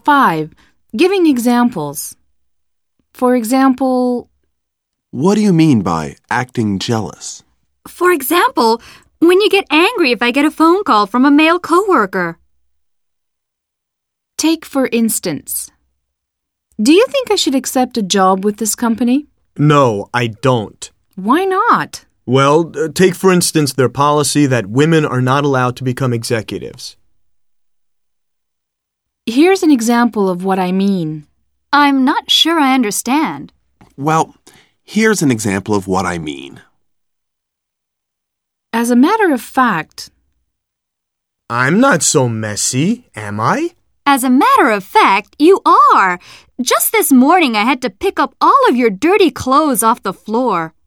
5. Giving examples. For example, What do you mean by acting jealous? For example, when you get angry if I get a phone call from a male coworker. take for instance. Do you think I should accept a job with this company? No, I don't. Why not? Well, take for instance their policy that women are not allowed to become executives. Here's an example of what I mean. I'm not sure I understand. Well, here's an example of what I mean. As a matter of fact, I'm not so messy, am I? As a matter of fact, you are. Just this morning I had to pick up all of your dirty clothes off the floor.